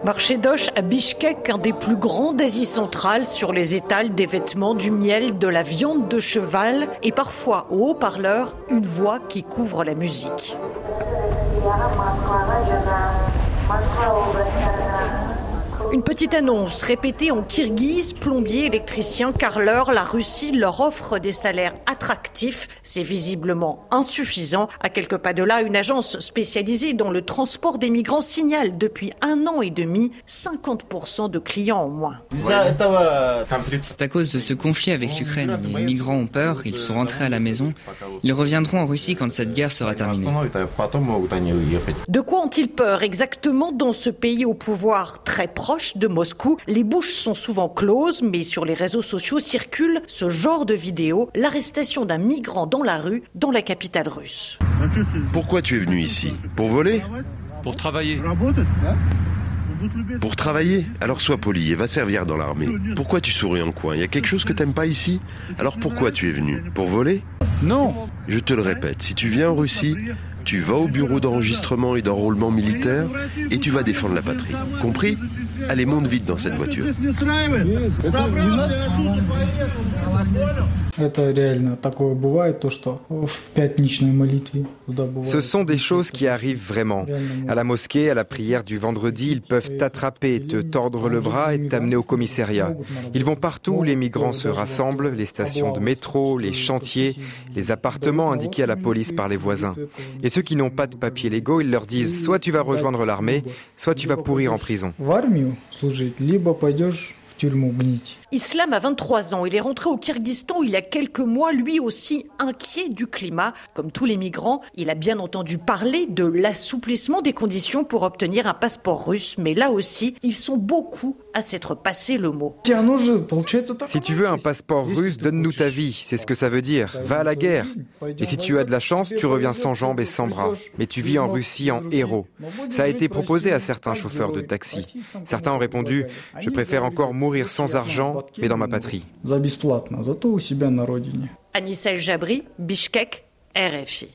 Marché d'Osh à Bichkek, un des plus grands d'Asie centrale, sur les étals des vêtements, du miel, de la viande de cheval et parfois au haut-parleur, une voix qui couvre la musique. Une petite annonce répétée en kirghize, plombiers, électriciens, carreleurs, la Russie leur offre des salaires attractifs. C'est visiblement insuffisant. À quelques pas de là, une agence spécialisée dans le transport des migrants signale depuis 1 an et demi 50% de clients en moins. C'est à cause de ce conflit avec l'Ukraine. Les migrants ont peur, ils sont rentrés à la maison. Ils reviendront en Russie quand cette guerre sera terminée. De quoi ont-ils peur exactement dans ce pays au pouvoir très proche de Moscou? Les bouches sont souvent closes, mais sur les réseaux sociaux circule ce genre de vidéo, l'arrestation d'un migrant dans la rue, dans la capitale russe. Pourquoi tu es venu ici? Pour voler? Pour travailler. Pour travailler? Alors sois poli et va servir dans l'armée. Pourquoi tu souris en coin? Il y a quelque chose que t'aimes pas ici? Alors pourquoi tu es venu? Pour voler? Non. Je te le répète, si tu viens en Russie, tu vas au bureau d'enregistrement et d'enrôlement militaire et tu vas défendre la patrie. Compris? Allez, monte vite dans cette voiture. Ce sont des choses qui arrivent vraiment. À la mosquée, à la prière du vendredi, ils peuvent t'attraper, te tordre le bras et t'amener au commissariat. Ils vont partout où les migrants se rassemblent, les stations de métro, les chantiers, les appartements indiqués à la police par les voisins. Et ceux qui n'ont pas de papiers légaux, ils leur disent soit tu vas rejoindre l'armée, soit tu vas pourrir en prison. Islam a 23 ans. Il est rentré au Kirghizstan il y a quelques mois, lui aussi inquiet du climat. Comme tous les migrants, il a bien entendu parler de l'assouplissement des conditions pour obtenir un passeport russe. Mais là aussi, ils sont beaucoup à s'être passé le mot. Si tu veux un passeport russe, donne-nous ta vie, c'est ce que ça veut dire. Va à la guerre. Et si tu as de la chance, tu reviens sans jambes et sans bras. Mais tu vis en Russie en héros. Ça a été proposé à certains chauffeurs de taxi. Certains ont répondu « Je préfère encore mourir sans argent, mais dans ma patrie ». Anissa El Jabri, Bichkek, RFI.